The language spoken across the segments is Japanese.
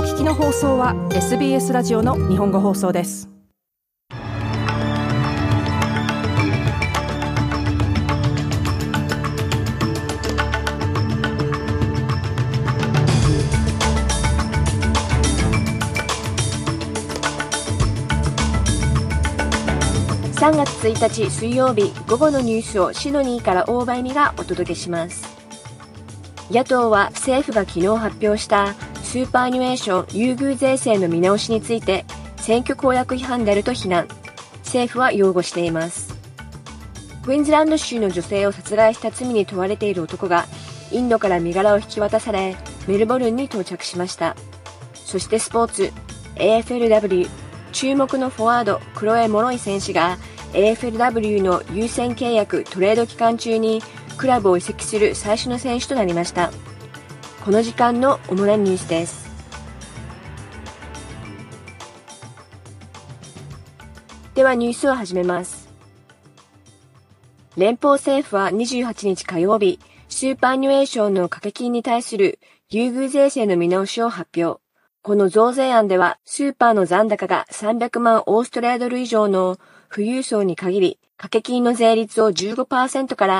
聞きの放送は SBS ラジオの日本語放送です。 3月1日水曜日午後のニュースをシドニーから大場恵美がお届けします。野党は政府が昨日発表したスーパーアニュエーション優遇税制の見直しについて選挙公約違反であると非難。政府は擁護しています。クイーンズランド州の女性を殺害した罪に問われている男がインドから身柄を引き渡されメルボルンに到着しました。そしてスポーツ AFLW 注目のフォワードクロエ・モロイ選手が AFLW の優先契約トレード期間中にクラブを移籍する最初の選手となりました。この時間の主なニュースです。ではニュースを始めます。連邦政府は28日火曜日、スーパーアニュエーションの掛け金に対する優遇税制の見直しを発表。この増税案では、スーパーの残高が300万オーストラリアドル以上の富裕層に限り、掛け金の税率を 15% から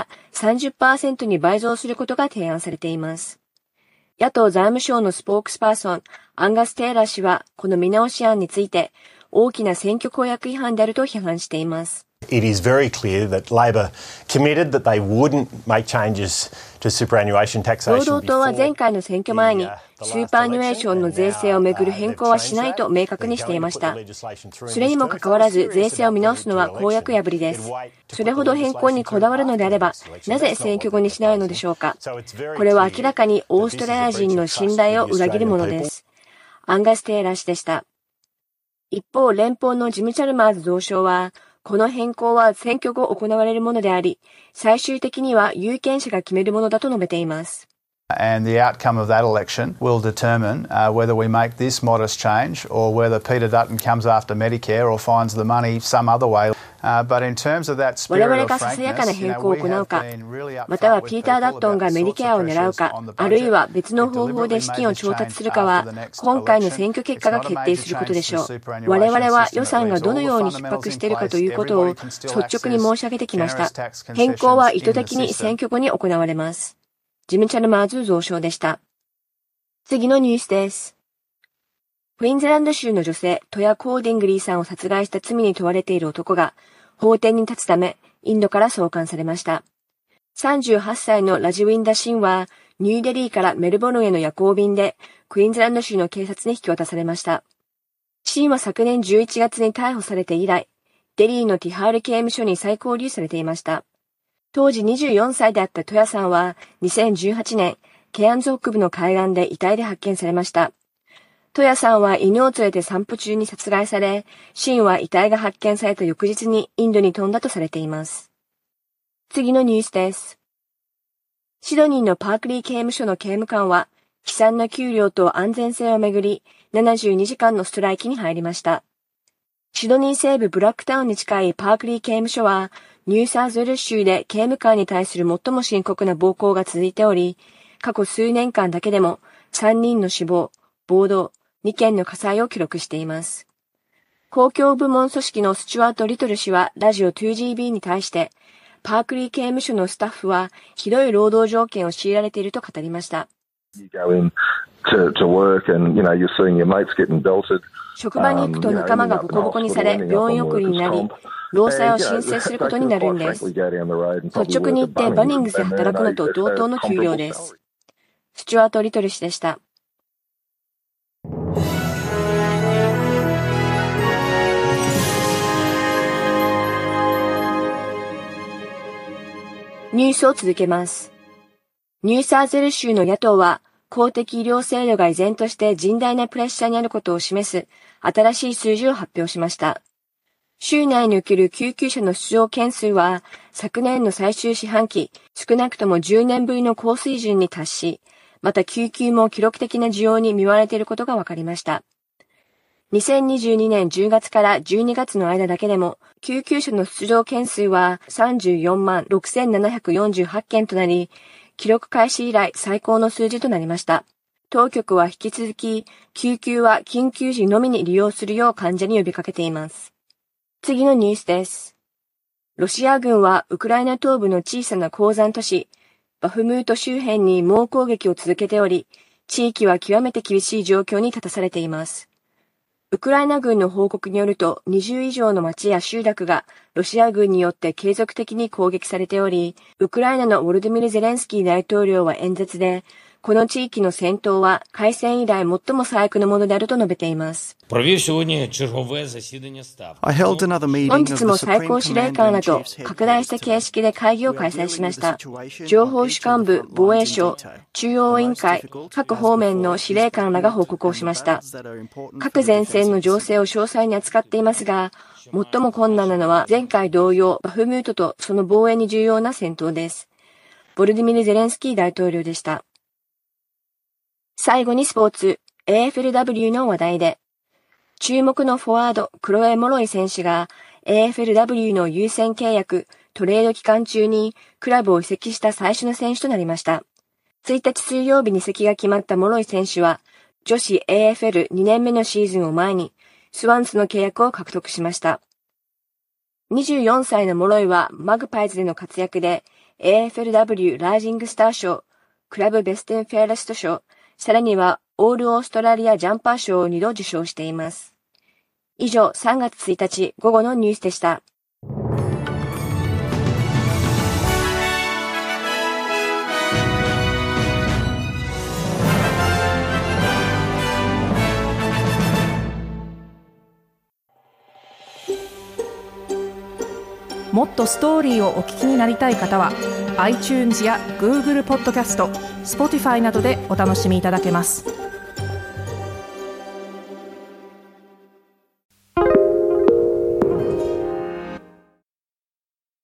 30% に倍増することが提案されています。野党財務省のスポークスパーソン、アンガス・テイラー氏は、この見直し案について、大きな選挙公約違反であると批判しています。 It is very clear that Labor committed that they wouldn't make changes to superannuation taxation. 労働党は前回の選挙前にスーパーアニュエーションの税制をめぐる変更はしないと明確にしていました。それにもかかわらず税制を見直すのは公約破りです。それほど変更にこだわるのであれば、なぜ選挙後にしないのでしょうか。これは明らかにオーストラリア人の信頼を裏切るものです。アンガス・テイラー氏でした。一方、連邦のジム・チャルマーズ増相は、この変更は選挙後行われるものであり、最終的には有権者が決めるものだと述べています。 And the outcome of that election will determine whether we make this modest change or whether Peter Dutton comes after Medicare or finds the money some other way. But in terms of that spirit of frankness, 我々がささやかな変更を行うか、またはピーター・ダットンがメディケアを狙うか、あるいは別の方法で資金を調達するかは、今回の選挙結果が決定することでしょう。我々は予算がどのように逼迫しているかということを率直に申し上げてきました。変更は意図的に選挙後に行われます。ジム・チャルマーズ増相でした。次のニュースです。クイーンズランド州の女性、トヤ・コーディングリーさんを殺害した罪に問われている男が、法廷に立つため、インドから送還されました。38歳のラジウィンダ・シンは、ニューデリーからメルボルンへの夜行便で、クイーンズランド州の警察に引き渡されました。シンは昨年11月に逮捕されて以来、デリーのティハール刑務所に再拘留されていました。当時24歳であったトヤさんは2018年、ケアンズ北部の海岸で遺体で発見されました。トヤさんは犬を連れて散歩中に殺害され、シンは遺体が発見された翌日にインドに飛んだとされています。次のニュースです。シドニーのパークリー刑務所の刑務官は、悲惨な給料と安全性をめぐり、72時間のストライキに入りました。シドニー西部ブラックタウンに近いパークリー刑務所は、ニューサウスウェルズ州で刑務官に対する最も深刻な暴行が続いており、過去数年間だけでも3人の死亡、暴動、2件の火災を記録しています。公共部門組織のスチュワート・リトル氏はラジオ 2GB に対して、パークリー刑務所のスタッフはひどい労働条件を強いられていると語りました。職場に行くと仲間がボコボコにされ、病院送りになり、労災を申請することになるんです。率直に言ってバニングスで働くのと同等の給料です。スチュワート・リトル氏でした。ニュースを続けます。ニューサウスウェルズ州の野党は、公的医療制度が依然として甚大なプレッシャーにあることを示す新しい数字を発表しました。州内における救急車の出動件数は昨年の最終四半期少なくとも10年ぶりの高水準に達し、また救急も記録的な需要に見舞われていることが分かりました。2022年10月から12月の間だけでも救急車の出動件数は34万6748件となり、記録開始以来最高の数字となりました。 当局は引き続き、救急は緊急時のみに利用するよう患者に呼びかけています。次のニュースです。ロシア軍はウクライナ東部の小さな鉱山都市、バフムート周辺に猛攻撃を続けており、地域は極めて厳しい状況に立たされています。ウクライナ軍の報告によると、20以上の町や集落がロシア軍によって継続的に攻撃されており、ウクライナのウォルディミル・ゼレンスキー大統領は演説で、この地域の戦闘は開戦以来最も最悪のものであると述べています。本日も最高司令官らと拡大した形式で会議を開催しました。情報主管部、防衛省、中央委員会、各方面の司令官らが報告をしました。各前線の情勢を詳細に扱っていますが、最も困難なのは前回同様バフムートとその防衛に重要な戦闘です。ボルディミル・ゼレンスキー大統領でした。最後にスポーツ、AFLW の話題で、注目のフォワード、クロエ・モロイ選手が AFLW の優先契約、トレード期間中にクラブを移籍した最初の選手となりました。1日水曜日に移籍が決まったモロイ選手は、女子 AFL2 年目のシーズンを前に、スワンスの契約を獲得しました。24歳のモロイはマグパイズでの活躍で、AFLW ライジングスター賞、クラブベストフェアレスト賞、さらにはオールオーストラリアジャンパー賞を2度受賞しています。以上、3月1日午後のニュースでした。 もっとストーリーをお聞きになりたい方は iTunes や Google ポッドキャスト、Spotify などでお楽しみいただけます。